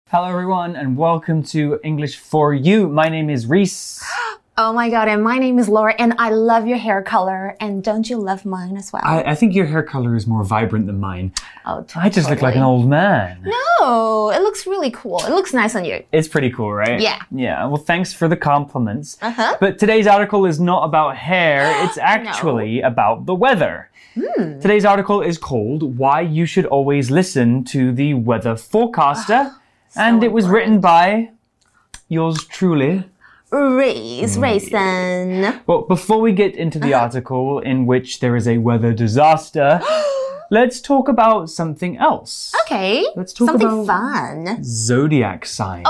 Hello everyone and welcome to English for You. My name is Reese. Oh my god, and my name is Laura, and I love your hair color, and don't you love mine as well? I think your hair color is more vibrant than mine. Oh, totally. I just look like an old man. No, it looks really cool. It looks nice on you. It's pretty cool, right? Yeah. Yeah, well thanks for the compliments. But today's article is not about hair, it's actually about the weather. Today's article is called Why You Should Always Listen to the Weather Forecaster. And it was written by yours truly, Reese. Well, before we get into the article in which there is a weather disaster, let's talk about something else. Okay. Let's talk something fun. Zodiac signs.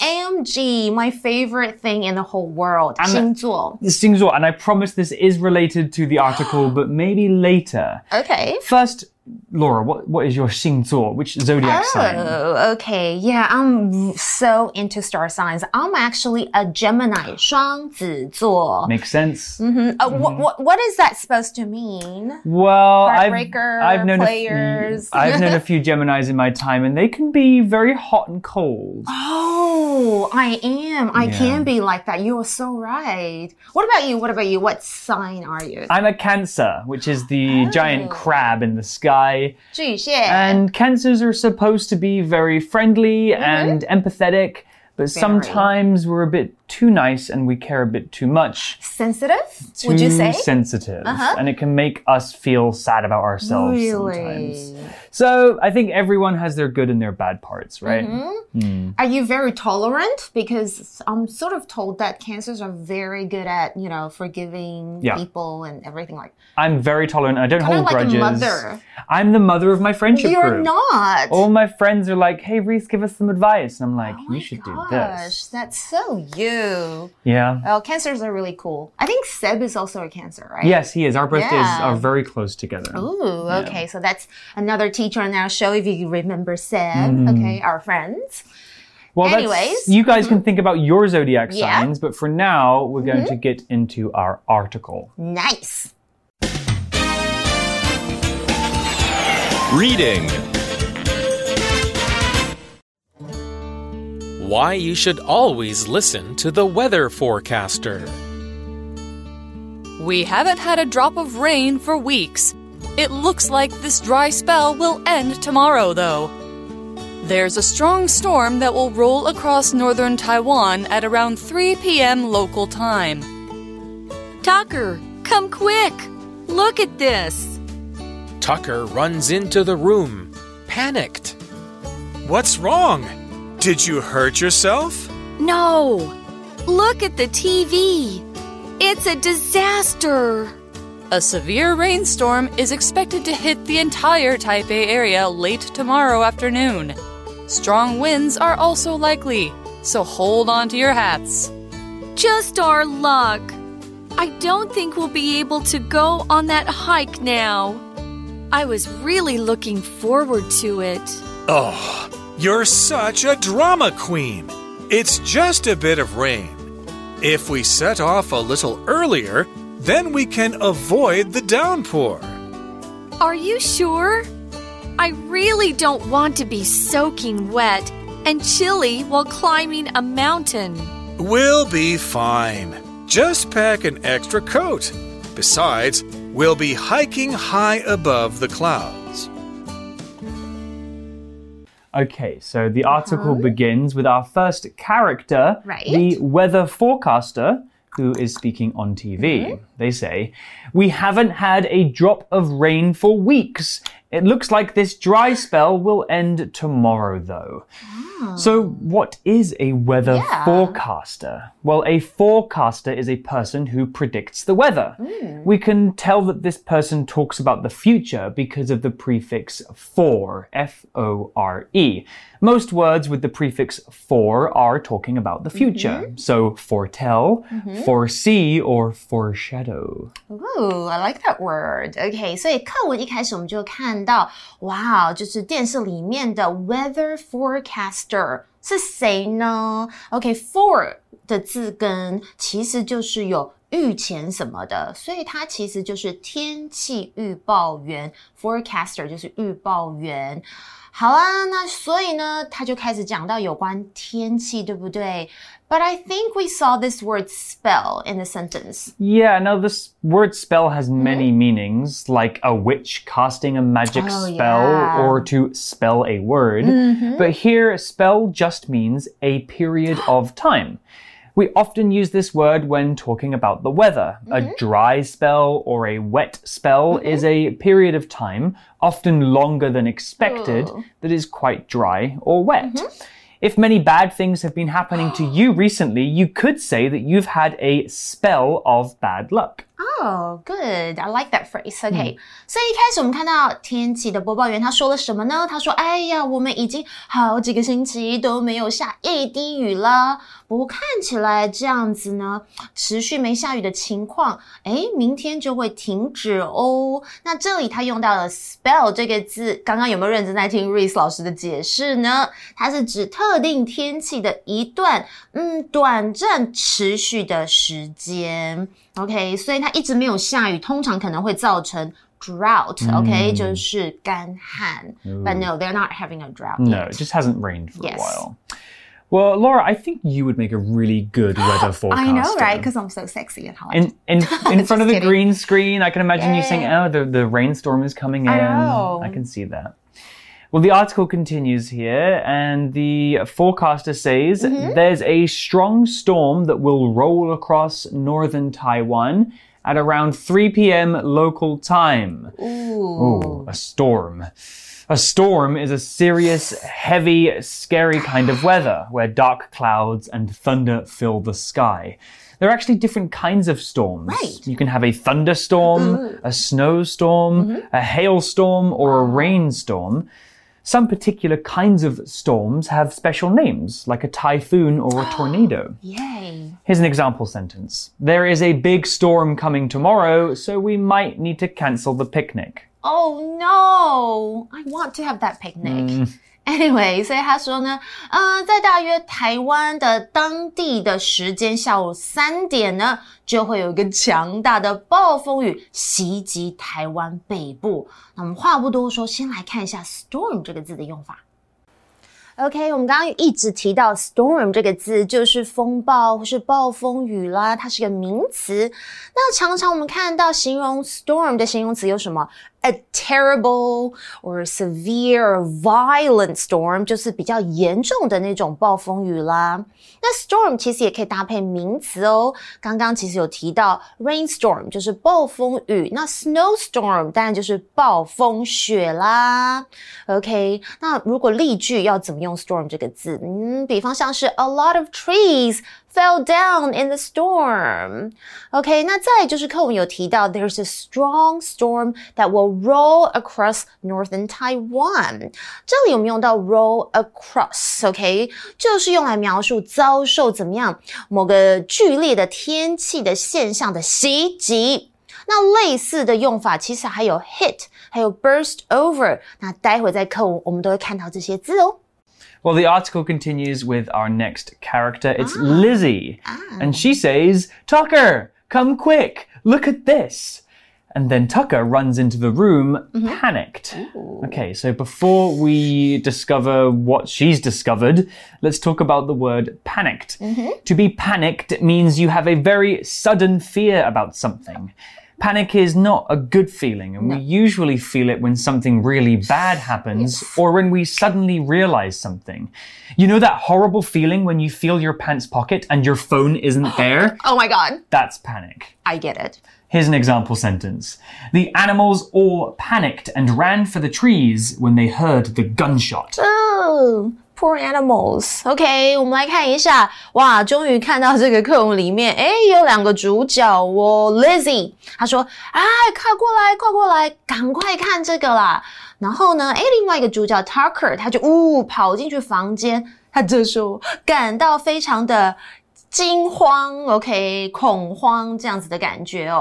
OMG, my favorite thing in the whole world. 星座. 星座, and I promise this is related to the article, but maybe later. Okay. First, Laura, what is your 星座? Which zodiac sign? Oh, okay. Yeah, I'm so into star signs. I'm actually a Gemini, 双子座. Makes sense. What is that supposed to mean? Well, Heartbreaker, I've known players. I've known a few Geminis in my time, and they can be very hot and cold. Oh, I am. I can be like that. You are so right. What about you? What sign are you? I'm a Cancer, which is the giant crab in the sky. 巨蟹. And Cancers are supposed to be very friendly and empathetic, but sometimes we're a bit too nice and we care a bit too much. Sensitive, would you say? Too sensitive. And it can make us feel sad about ourselves sometimes. So I think everyone has their good and their bad parts, right? Are you very tolerant? Because I'm sort of told that Cancers are very good at, forgiving people and everything like that. I'm very tolerant. I don't hold grudges. Like a mother. I'm the mother of my friendship group. You're not. All my friends are like, hey, Reese, give us some advice. And I'm like, you should do this. That's so you. Yeah. Well, Cancers are really cool. I think Seb is also a Cancer, right? Yes, he is. Our birthdays are very close together. Ooh, okay. So that's another teacher on our show, if you remember Seb. Okay, our friends. Well, anyways. You guys can think about your zodiac signs, but for now, we're going to get into our article. Nice. Reading. Why you should always listen to the weather forecaster. We haven't had a drop of rain for weeks. It looks like this dry spell will end tomorrow, though. There's a strong storm that will roll across northern Taiwan at around 3 p.m. local time. Tucker, come quick! Look at this! Tucker runs into the room, panicked. What's wrong? Did you hurt yourself? No. Look at the TV. It's a disaster. A severe rainstorm is expected to hit the entire Taipei area late tomorrow afternoon. Strong winds are also likely, so hold on to your hats. Just our luck. I don't think we'll be able to go on that hike now. I was really looking forward to it. Oh, you're such a drama queen. It's just a bit of rain. If we set off a little earlier, then we can avoid the downpour. Are you sure? I really don't want to be soaking wet and chilly while climbing a mountain. We'll be fine. Just pack an extra coat. Besides, we'll be hiking high above the clouds. Okay, so the article begins with our first character, the weather forecaster, who is speaking on TV. They say, "We haven't had a drop of rain for weeks. It looks like this dry spell will end tomorrow, though." So what is a weather forecaster? Well, a forecaster is a person who predicts the weather. We can tell that this person talks about the future because of the prefix for, F-O-R-E. Most words with the prefix for are talking about the future. So foretell, foresee, or foreshadow. Ooh, I like that word. Okay, 所以課文一開始我們就看到，哇，就是電視裡面的 weather forecaster 是誰呢？ OK, for 的字根其實就是有預前什麼的，所以它其實就是天氣預報員 ，forecaster 就是預報員。好啦，那所以呢，他就開始講到有關天氣，對不對？ But I think we saw this word spell in the sentence. Yeah, no, this word spell has many meanings, like a witch casting a magic spell or to spell a word. But here, spell just means a period of time. We often use this word when talking about the weather. A dry spell or a wet spell is a period of time, often longer than expected, that is quite dry or wet. If many bad things have been happening to you recently, you could say that you've had a spell of bad luck. Oh, good. I like that phrase. Okay. 所以一開始我們看到天氣的播報員他說了什麼呢？他說，哎呀，我們已經好幾個星期都沒有下一滴雨了。不過看起來這樣子呢，持續沒下雨的情況，明天就會停止哦。那這裡他用到了 spell 這個字，剛剛有沒有認真在聽 Reese 老師的解釋呢？它是指特定天氣的一段，短暫持續的時間。OK， 所以它一直沒有下雨，通常可能會造成 drought，OK， 就是乾旱。But no, they're not having a drought yet. No, it just hasn't rained for a while. Well, Laura, I think you would make a really good weather forecaster. I know, right? Because I'm so sexy and hot. In front of the green screen, I can imagine you saying, oh, the rainstorm is coming in. I can see that. Well, the article continues here, and the forecaster says there's a strong storm that will roll across northern Taiwan at around 3 p.m. local time. Ooh, a storm. A storm is a serious, heavy, scary kind of weather where dark clouds and thunder fill the sky. There are actually different kinds of storms. Right. You can have a thunderstorm, a snowstorm, a hailstorm, or a rainstorm. Some particular kinds of storms have special names, like a typhoon or a tornado. Yay. Here's an example sentence. There is a big storm coming tomorrow, so we might need to cancel the picnic. Oh no! I want to have that picnic. Anyway, 所以他說呢，在大約台灣的當地的時間下午3點呢，就會有一個強大的暴風雨襲擊台灣北部。那我們話不多說，先來看一下 storm 這個字的用法。OK， 我們剛剛一直提到 storm 這個字，就是風暴或是暴風雨啦，它是個名詞。那常常我們看到形容 storm 的形容詞有什麼？A terrible or severe or violent storm 就是比較嚴重的那種暴風雨啦。那 storm 其實也可以搭配名詞哦。剛剛其實有提到 rainstorm 就是暴風雨，那 snowstorm 當然就是暴風雪啦。OK， 那如果例句要怎麼用 storm 這個字？比方像是 a lot of trees fell down in the storm. OK， 那再來就是課文有提到 there's a strong storm that will roll across northern Taiwan. 這裡我們用到 roll across, OK， 就是用來描述遭受怎麼樣某個劇烈的天氣的現象的襲擊。那類似的用法其實還有 hit, 還有 burst over. 那待會在課文我們都會看到這些字哦。 Well, the article continues with our next character. It's Lizzie. And she says, Tucker, come quick. Look at this. And then Tucker runs into the room, panicked. Okay, so before we discover what she's discovered, let's talk about the word panicked. To be panicked means you have a very sudden fear about something. Panic is not a good feeling, and we usually feel it when something really bad happens or when we suddenly realize something. You know that horrible feeling when you feel your pants pocket and your phone isn't there? Oh my God. That's panic. I get it. Here's an example sentence. The animals all panicked and ran for the trees when they heard the gunshot. Oh, poor animals. OK, 我們來看一下。哇，終於看到這個課文裡面，有兩個主角哦。Lizzie， 她說，快過來，快過來，趕快看這個啦。然後呢，另外一個主角 Tucker， 他就跑進去房間，他這時候感到非常的驚慌 ，OK， 恐慌這樣子的感覺哦。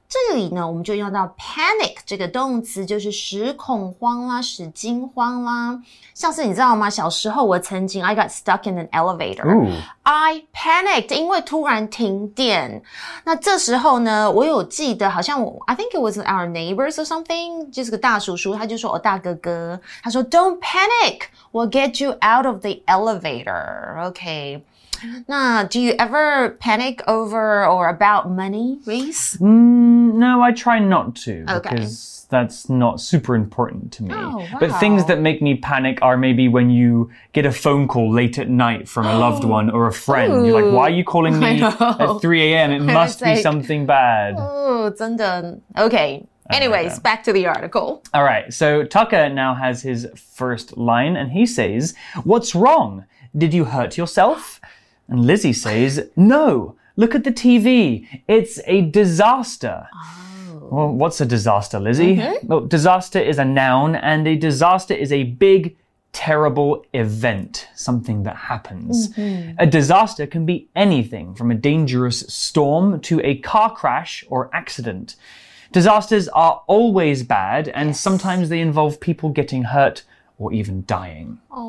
這裡呢，我們就用到 panic 這個動詞，就是使恐慌啦，使驚慌啦。像是你知道嗎？小時候我曾經 I got stuck in an elevator。I panicked， 因為突然停電。那這時候呢，我有記得好像I think it was our neighbors or something， 就是個大叔叔，他就說大哥哥，他說 Don't panic， we'll get you out of the elevator。OK。那 do you ever panic over or about money, Reese? No, I try not to because that's not super important to me. Oh, wow. But things that make me panic are maybe when you get a phone call late at night from a loved one or a friend. Ooh, You're like, why are you calling me at 3 a.m.? It must be something bad. Oh, 真的. Okay. Anyways, back to the article. All right. So Tucker now has his first line and he says, "What's wrong? Did you hurt yourself?" And Lizzie says, "No, look at the TV. It's a disaster." Oh. Well, what's a disaster, Lizzie? Well, disaster is a noun, and a disaster is a big, terrible event, something that happens. A disaster can be anything from a dangerous storm to a car crash or accident. Disasters are always bad, and sometimes they involve people getting hurt or even dying. Oh,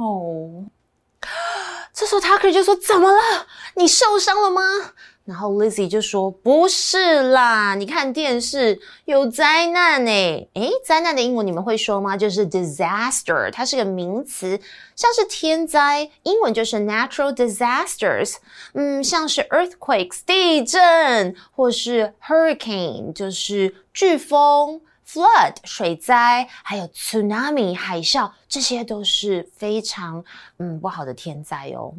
no. 这時候 Tucker 就說怎麼了？你受傷了嗎？然後 Lizzie 就說不是啦，你看電視有災難誒。災難的英文你們會說嗎？就是 disaster， 它是個名詞，像是天災，英文就是 natural disasters。像是 earthquakes 地震，或是 hurricane 就是颶風。Flood 水災，還有 tsunami 海嘯，這些都是非常不好的天災哦。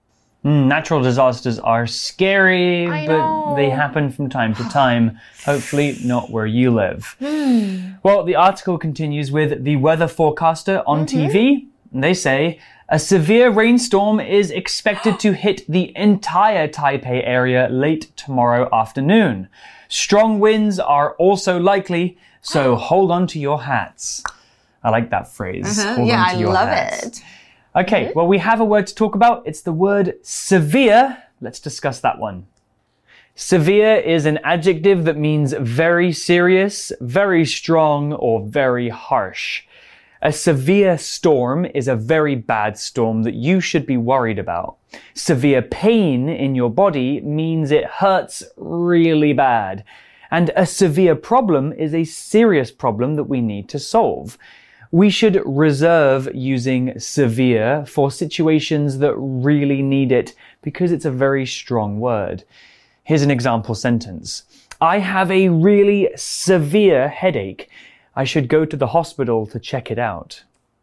Natural disasters are scary, but they happen from time to time. Hopefully not where you live. Well, the article continues with the weather forecaster on TV. They say, a severe rainstorm is expected to hit the entire Taipei area late tomorrow afternoon. Strong winds are also likely, so hold on to your hats. I like that phrase. Hold on to your hats. Love it. Okay, well, we have a word to talk about. It's the word severe. Let's discuss that one. Severe is an adjective that means very serious, very strong, or very harsh. A severe storm is a very bad storm that you should be worried about. Severe pain in your body means it hurts really bad. And a severe problem is a serious problem that we need to solve. We should reserve using severe for situations that really need it because it's a very strong word. Here's an example sentence. I have a really severe headache. I should go to the hospital to check it out.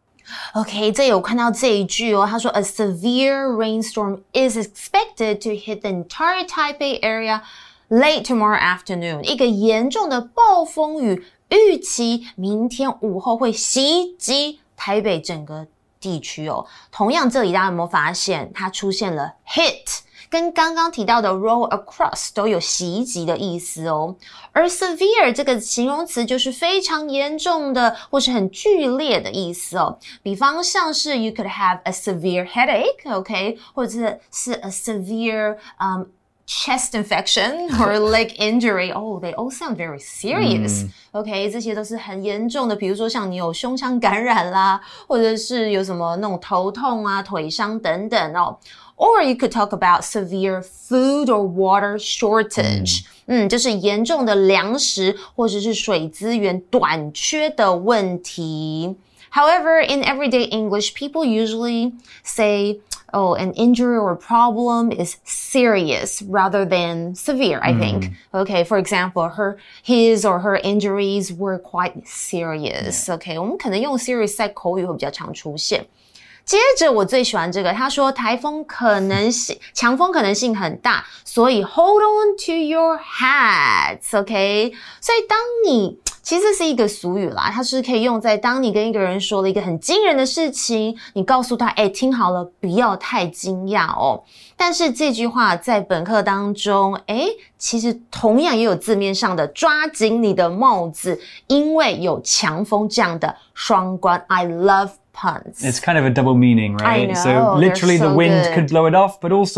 OK, 這有看到這一句哦，他說 A severe rainstorm is expected to hit the entire Taipei area late tomorrow afternoon. 一個嚴重的暴風雨預期明天午後會襲擊台北整個地區哦。同樣，這裡大家有沒有發現它出現了 hit， 跟剛剛提到的 roll across 都有襲擊的意思哦。而 severe 這個形容詞就是非常嚴重的或是很劇烈的意思哦。比方像是 you could have a severe headache, OK， 或者是 a severe chest infection or leg injury. Oh, they all sound very serious. OK, 這些都是很嚴重的，比如說像你有胸腔感染啦，或者是有什麼那種頭痛啊、腿傷等等哦。Or you could talk about severe food or water shortage. 就是嚴重的糧食或者是水資源短缺的問題。However, in everyday English, people usually say, oh, an injury or problem is serious rather than severe, I think. Okay, for example, his or her injuries were quite serious. Okay, 我們可能用 serious 在口語會比較常出現。接着我最喜歡這個，他說颱風可能性，強風可能性很大，所以 hold on to your hats, OK？ 所以當你其實是一個俗語啦，它是可以用在當你跟一個人說了一個很驚人的事情，你告訴他，聽好了，不要太驚訝哦。但是這句話在本課當中，其實同樣也有字面上的抓緊你的帽子，因為有強風這樣的雙關。I love puns. It's kind of a double meaning, right? I know, so literally so the wind good. could blow it off, but also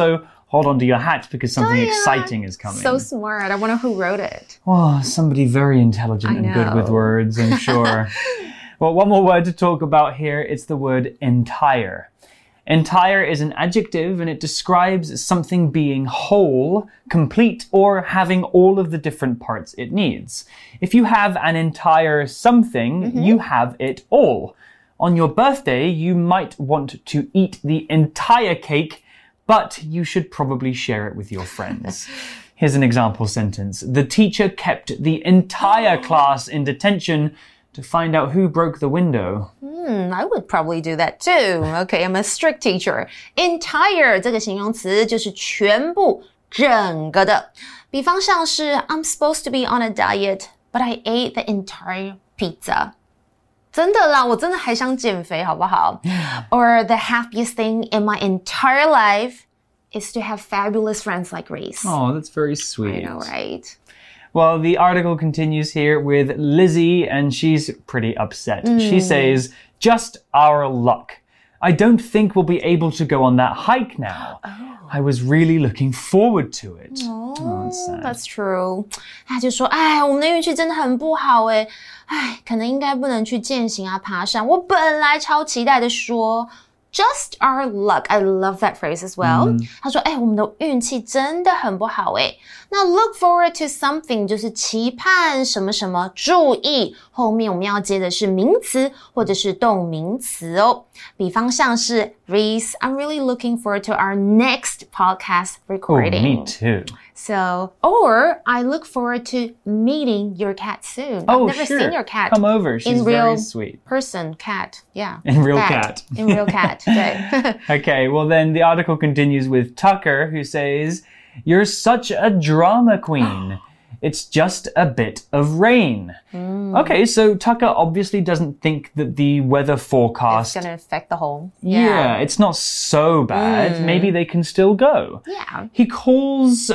hold on to your hat because something exciting is coming. So smart. I wonder who wrote it. Oh, somebody very intelligent and good with words, I'm sure. Well, one more word to talk about here. It's the word entire. Entire is an adjective and it describes something being whole, complete, or having all of the different parts it needs. If you have an entire something, you have it all. On your birthday, you might want to eat the entire cake, but you should probably share it with your friends. Here's an example sentence. The teacher kept the entire class in detention to find out who broke the window. I would probably do that too. Okay, I'm a strict teacher. Entire 这个形容词就是全部、整个的。比方像是 I'm supposed to be on a diet, but I ate the entire pizza. 真的啦，我真的还想減肥，好不好？ Or the happiest thing in my entire life is to have fabulous friends like Reese. Oh, that's very sweet. I know, right? Well, the article continues here with Lizzie, and she's pretty upset. She says, just our luck. I don't think we'll be able to go on that hike now. I was really looking forward to it. Oh, that's sad. That's true. 他就说，我们的运气真的很不好耶，可能应该不能去健行啊，爬山。我本来超期待的说。Just our luck. I love that phrase as well. 他说，我们的运氣真的很不好耶。那 look forward to something 就是期盼什麼什麼，注意後面我們要接的是名詞或者是動名詞哦。比方像是 Reese, I'm really looking forward to our next podcast recording. Oh, me too. So, or I look forward to meeting your cat soon. Oh, I've never sure. seen your cat. Come over. She's very sweet. Person, cat. Yeah. In real cat. In real cat. 对。 Okay, well then the article continues with Tucker, who says, You're such a drama queen. It's just a bit of rain. Okay, so Tucker obviously doesn't think that the weather forecast... It's going to affect the whole... Yeah, it's not so bad. Maybe they can still go. Yeah. He calls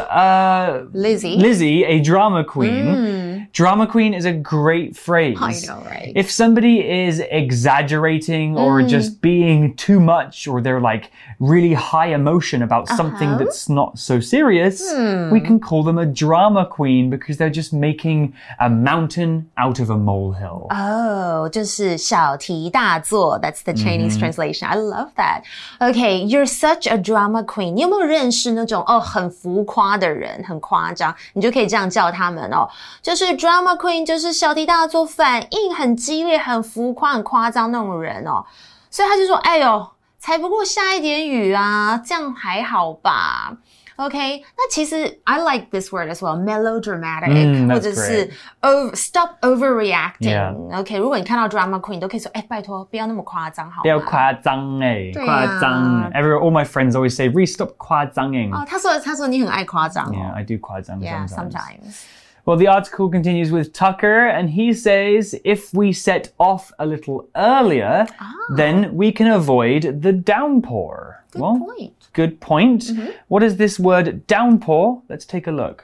Lizzie a drama queen. Drama queen is a great phrase. I know, right? If somebody is exaggerating or just being too much, or they're like really high emotion about something that's not so serious, we can call them a drama queen because they're just making a mountain out of a molehill. Oh, 就是小题大做. That's the Chinese translation. I love that. Okay, you're such a drama queen. 你有没有認識那種很浮誇的人，很誇張，你就可以這樣叫他們哦。就是 drama queen 就是小題大做，反應很激烈，很浮誇，很誇張那種人哦。所以他就說，哎呦，才不過下一點雨啊，這樣還好吧。Okay, 那其實 I like this word as well, melodramatic, 或者是 stop overreacting. Yeah. Okay, 如果你看到 drama queen, 都可以說，拜託，不要那麼誇張，好嗎？ 不要誇張誇張。All my friends always say, Reese, stop 誇張。 他說你很愛誇張。 Yeah, I do 誇張 Yeah, sometimes. Well, the article continues with Tucker, and he says, if we set off a little earlier, then we can avoid the downpour. Good point. Good point. What is this word downpour? Let's take a look.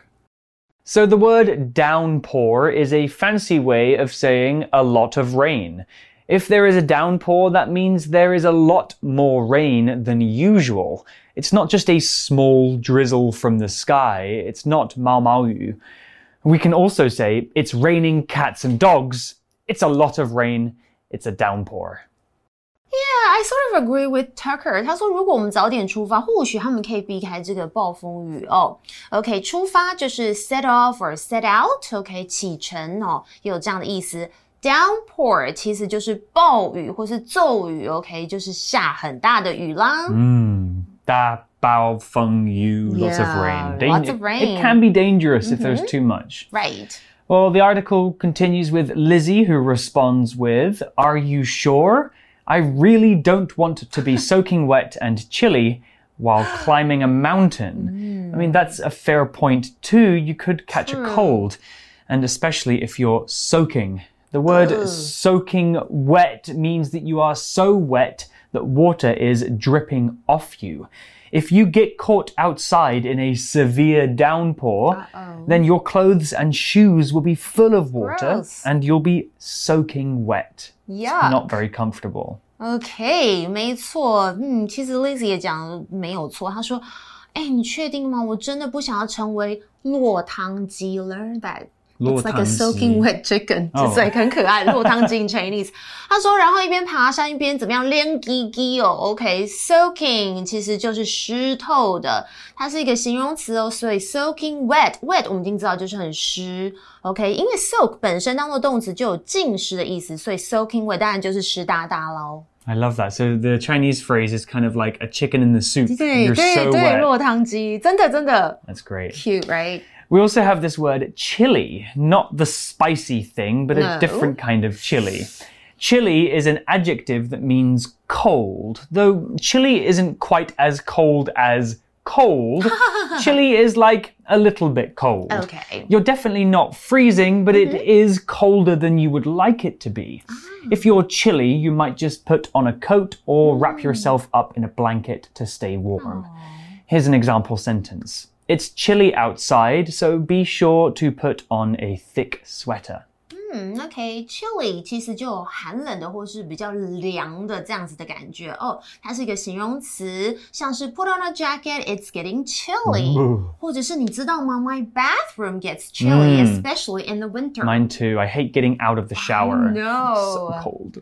So the word downpour is a fancy way of saying a lot of rain. If there is a downpour, that means there is a lot more rain than usual. It's not just a small drizzle from the sky. It's not 毛毛雨. We can also say, it's raining cats and dogs. It's a lot of rain. It's a downpour. Yeah, I sort of agree with Tucker. 他說如果我們早點出發，或許他們可以避開這個暴風雨哦。OK, 出發就是 set off or set out. OK, 啟程哦，也有這樣的意思。Downpour 其實就是暴雨或是驟雨。OK, 就是下很大的雨啦。 大暴風雨, lots of rain. Lots of rain. It can be dangerous if there's too much. Right. Well, the article continues with Lizzie, who responds with, Are you sure? I really don't want to be soaking wet and chilly while climbing a mountain. I mean, that's a fair point too. You could catch a cold, and especially if you're soaking. The word soaking wet means that you are so wet that water is dripping off you. If you get caught outside in a severe downpour, then your clothes and shoes will be full of water and you'll be soaking wet. Yeah. Not very comfortable. OK, 沒錯。其實 Lizzie 也講沒有錯。她說你確定嗎？我真的不想要成為落湯雞 Learn that.It's like a soaking wet chicken. 所以很可愛，落湯雞 in Chinese. 他說，然後一邊爬山一邊怎麼樣練雞雞哦 OK, soaking 其實就是濕透的，它是一個形容詞哦，所以 soaking wet 我們已經知道就是很濕 OK, 因為 soak 本身當作動詞就有浸濕的意思，所以 soaking wet 當然就是濕噠噠咯。 I love that. So the Chinese phrase is kind of like a chicken in the soup. 對 You're so wet. 落湯雞，真的 That's great. Cute, right? We also have this word chili, not the spicy thing, but a different kind of chili. Chili is an adjective that means cold, though chili isn't quite as cold as cold. Chili is like a little bit cold. Okay. You're definitely not freezing, but it is colder than you would like it to be. If you're chilly, you might just put on a coat or wrap yourself up in a blanket to stay warm. Here's an example sentence. It's chilly outside, so be sure to put on a thick sweater. OK, chilly 其實就有寒冷的或是比較涼的這樣子的感覺哦，它是一個形容詞，像是 put on a jacket, it's getting chilly. 或者是你知道嗎 My bathroom gets chilly, especially in the winter. Mine too. I hate getting out of the shower. No. So cold.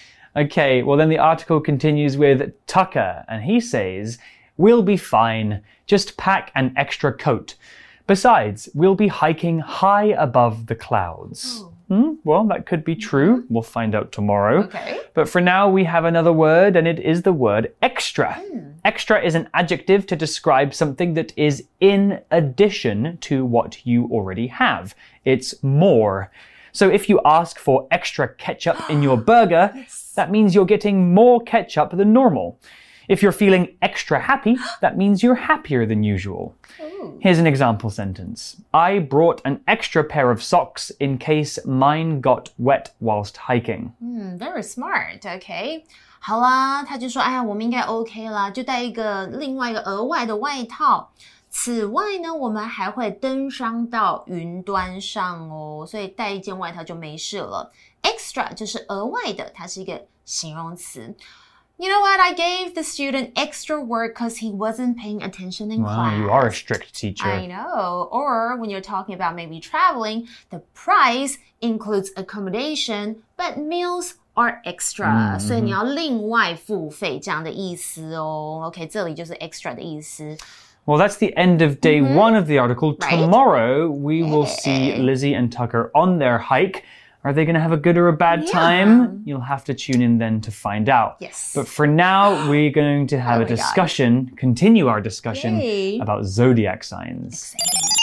Okay, well then the article continues with Tucker, and he says, we'll be fine. Just pack an extra coat. Besides, we'll be hiking high above the clouds. Well, that could be true. We'll find out tomorrow. Okay. But for now, we have another word, and it is the word extra. Extra is an adjective to describe something that is in addition to what you already have. It's more. So if you ask for extra ketchup in your burger, that means you're getting more ketchup than normal. If you're feeling extra happy, that means you're happier than usual. Here's an example sentence. I brought an extra pair of socks in case mine got wet whilst hiking. Very smart, okay. 好啦，他就说，哎呀，我们应該 OK 啦，就帶另外一個額外的外套。此外呢，我們還會登上到雲端上哦，所以帶一件外套就沒事了。Extra 就是額外的，它是一個形容詞。You know what? I gave the student extra work because he wasn't paying attention in class. Wow, you are a strict teacher. I know. Or when you're talking about maybe traveling, the price includes accommodation, but meals are extra. 所以你要另外付費這樣的意思哦。OK, 這裡就是 extra 的意思。 Well, that's the end of day one of the article. Right? Tomorrow, we will see Lizzie and Tucker on their hike. Are they going to have a good or a bad time? You'll have to tune in then to find out. Yes. But for now, we're going to have a discussion, continue our discussion about zodiac signs.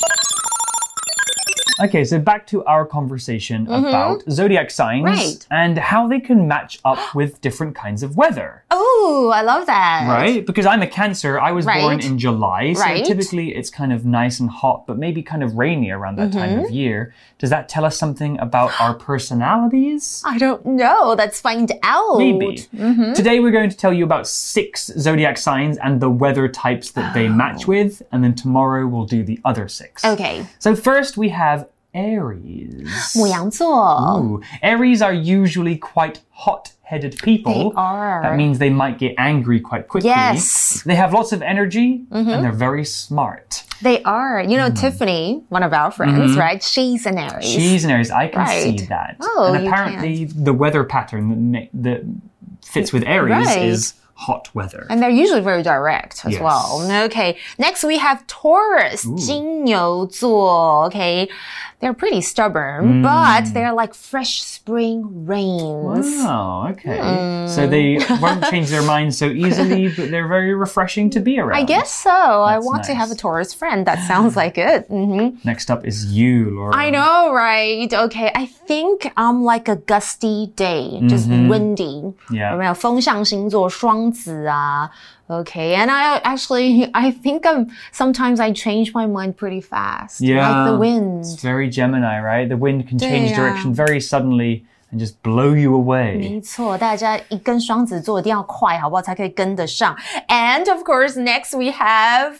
Okay, so back to our conversation about zodiac signs and how they can match up with different kinds of weather. Oh, I love that. Right? Because I'm a Cancer. I was born in July, so typically it's kind of nice and hot, but maybe kind of rainy around that time of year. Does that tell us something about our personalities? I don't know. Let's find out. Maybe. Today we're going to tell you about 6 zodiac signs and the weather types that they match with, and then tomorrow we'll do the other 6. Okay. So first we have Aries. 牡羊座. Ooh. Aries are usually quite hot-headed people. They are. That means they might get angry quite quickly. Yes. They have lots of energy and they're very smart. They are. You know, Tiffany, one of our friends, right? She's an Aries. She's an Aries. I can see that. Oh, and apparently the weather pattern that fits with Aries is hot weather. And they're usually very direct as well. Okay. Next we have Taurus. 金牛座. Okay. They're pretty stubborn, but they're like fresh spring rains. Wow, okay. So they won't change their minds so easily, but they're very refreshing to be around. I guess so. I want to have a Taurus friend. That sounds like it. Next up is you, Laura. I know, right? Okay. I think I'm like a gusty day, just windy. Yeah. 有没有风象星座双子啊? Okay, and I think sometimes I change my mind pretty fast. Yeah. Like the wind. It's very Gemini, right? The wind can change direction very suddenly and just blow you away. 没錯，大家一跟雙子座一定要快，好不好？才可以跟得上。And of course, next we have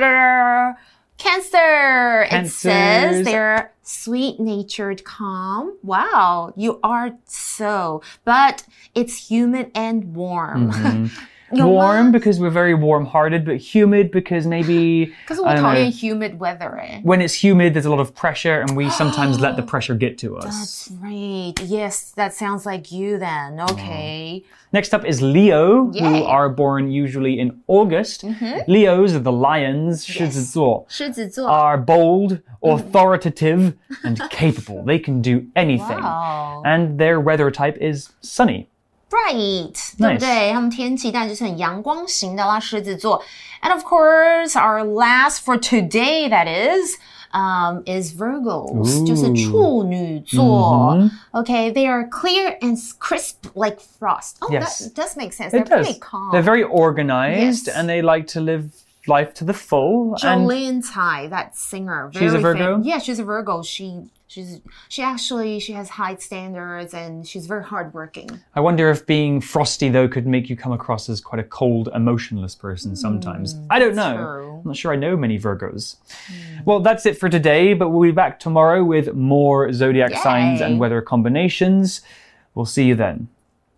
Cancer. It says they're sweet-natured, calm. Wow, you are so. But it's humid and warm. Warm because we're very warm-hearted, but humid because maybe... 可是我讨厌 humid weather. When it's humid, there's a lot of pressure, and we sometimes let the pressure get to us. That's right. Yes, that sounds like you then. Okay. Next up is Leo, Yay. who are born usually in August. Leos are the lions, 狮子座, 狮子座 are bold, authoritative, and capable. They can do anything. Wow. And their weather type is sunny. Bright, 对不对？他们天气当然就是很阳光型的啦，狮子座。And of course, our last for today, that is Virgos, 就是处女座。Okay, they are clear and crisp like frost. Oh, Yes. that does make sense. It They're does. pretty calm. They're very organized, Yes. and they like to live life to the full. Jolene Tsai, that singer. She's a Virgo? Yeah, she's a Virgo. She has high standards and she's very hardworking. I wonder if being frosty, though, could make you come across as quite a cold, emotionless person sometimes. I don't know. True. I'm not sure I know many Virgos. Well, that's it for today, but we'll be back tomorrow with more zodiac signs and weather combinations. We'll see you then.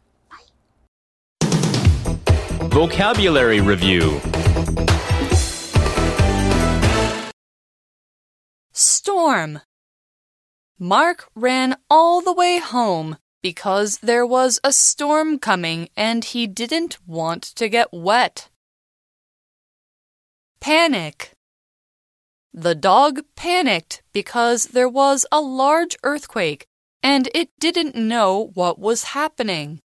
Vocabulary Review. Storm. Mark ran all the way home because there was a storm coming and he didn't want to get wet. Panic. The dog panicked because there was a large earthquake and it didn't know what was happening.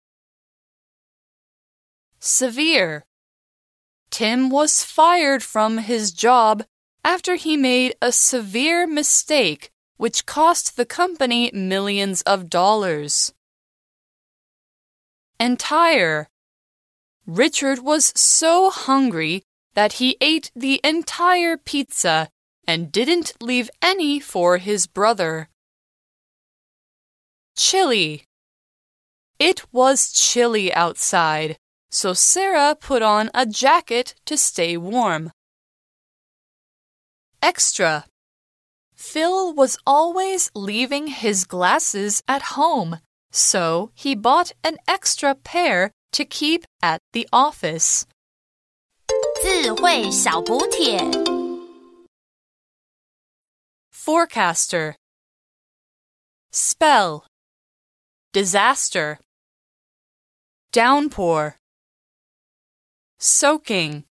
Severe. Tim was fired from his job after he made a severe mistake which cost the company millions of dollars. Entire. Richard was so hungry that he ate the entire pizza and didn't leave any for his brother. Chilly. It was chilly outside, so Sarah put on a jacket to stay warm. Extra. Phil was always leaving his glasses at home, so he bought an extra pair to keep at the office. 智慧小補帖 Forecaster. Spell. Disaster. Downpour. Soaking.